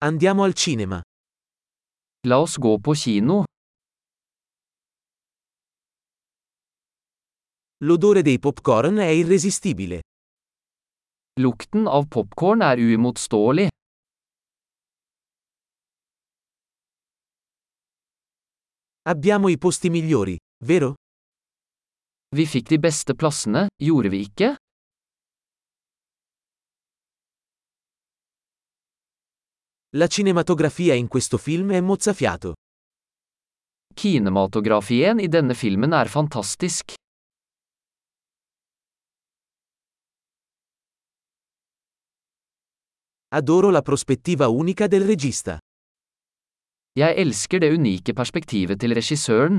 Andiamo al cinema. La oss gå på kino. L'odore dei popcorn è irresistibile. Lukten av popcorn er uimotståelig. Abbiamo i posti migliori, vero? Vi fikk de beste plassene, gjorde vi ikke? La cinematografia in questo film è mozzafiato. Kinematografien i denne filmen er fantastisk. Adoro la prospettiva unica del regista. Jeg elsker det unike perspektivet til regissøren.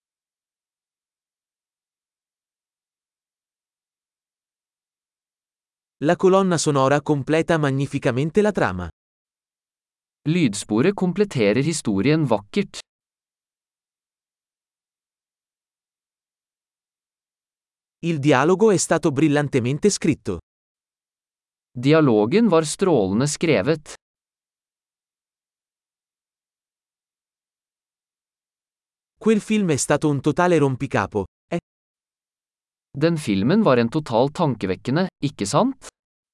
La colonna sonora completa magnificamente la trama. Lydsporet kompletterer historien vakkert. Il dialogo è stato brillantemente scritto. Dialogen var strålende skrevet. Quel film è stato un totale rompicapo, eh? Den filmen var en total tankevekkende, ikke sant?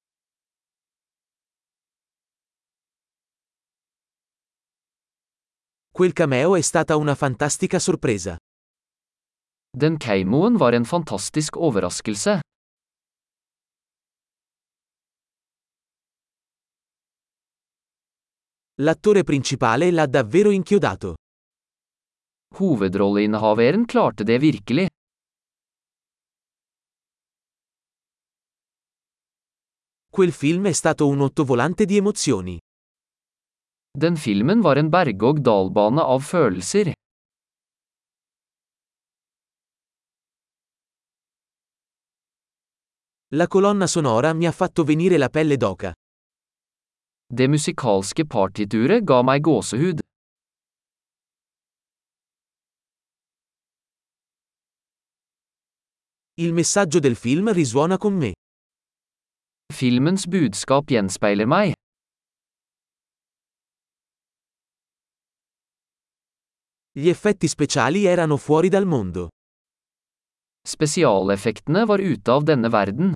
Quel cameo è stata una fantastica sorpresa. Den keimoen var en fantastisk overraskelse. L'attore principale l'ha davvero inchiodato. Hovedrolleinnehaveren klarte det virkelig. Quel film è stato un ottovolante di emozioni. Den filmen var en berg-og-dal-bane av følelser. La colonna sonora mi ha fatto venire la pelle d'oca. Det musikalske partituret ga meg gåsehud. Il messaggio del film risuona con me. Filmens budskap gjenspeiler meg. Gli effetti speciali erano fuori dal mondo. Spesialeffektene var ute av denne verden.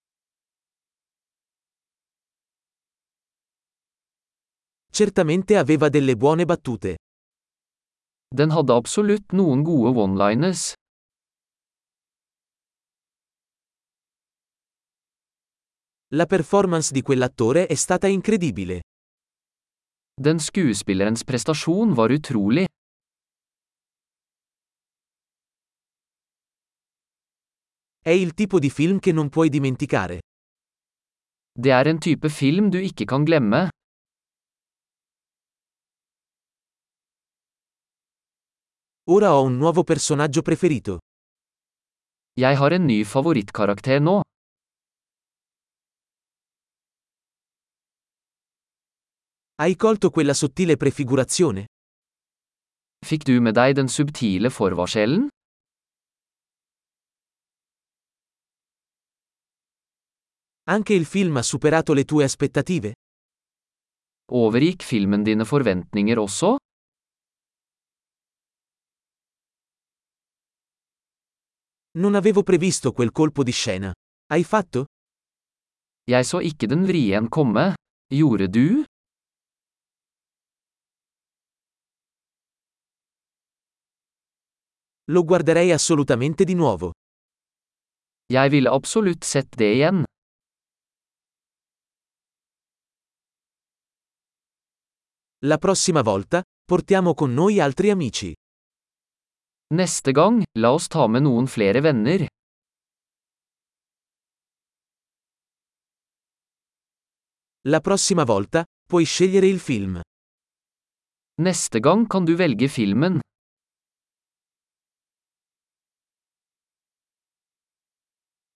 Certamente aveva delle buone battute. Den hadde absolutt noen gode one-liners. La performance di quell'attore è stata incredibile. Den skuespillerens prestasjon var utrolig. È il tipo di film che non puoi dimenticare. Det er en type film du ikke kan glemme. Ora ho un nuovo personaggio preferito. Jeg har en ny favorittkarakter nå. Hai colto quella sottile prefigurazione? Fikk du med deg den subtile forvarselen? Anche il film ha superato le tue aspettative? Overgikk filmen dine forventninger også? Non avevo previsto quel colpo di scena. Hai fatto? Jeg så ikke den vrien komme. Gjorde du? Lo guarderei assolutamente di nuovo. Jeg ville absolutt sett det igjen. La prossima volta, portiamo con noi altri amici. Neste gang, la oss ta med noen flere venner. La prossima volta, puoi scegliere il film. Neste gang kan du velge filmen.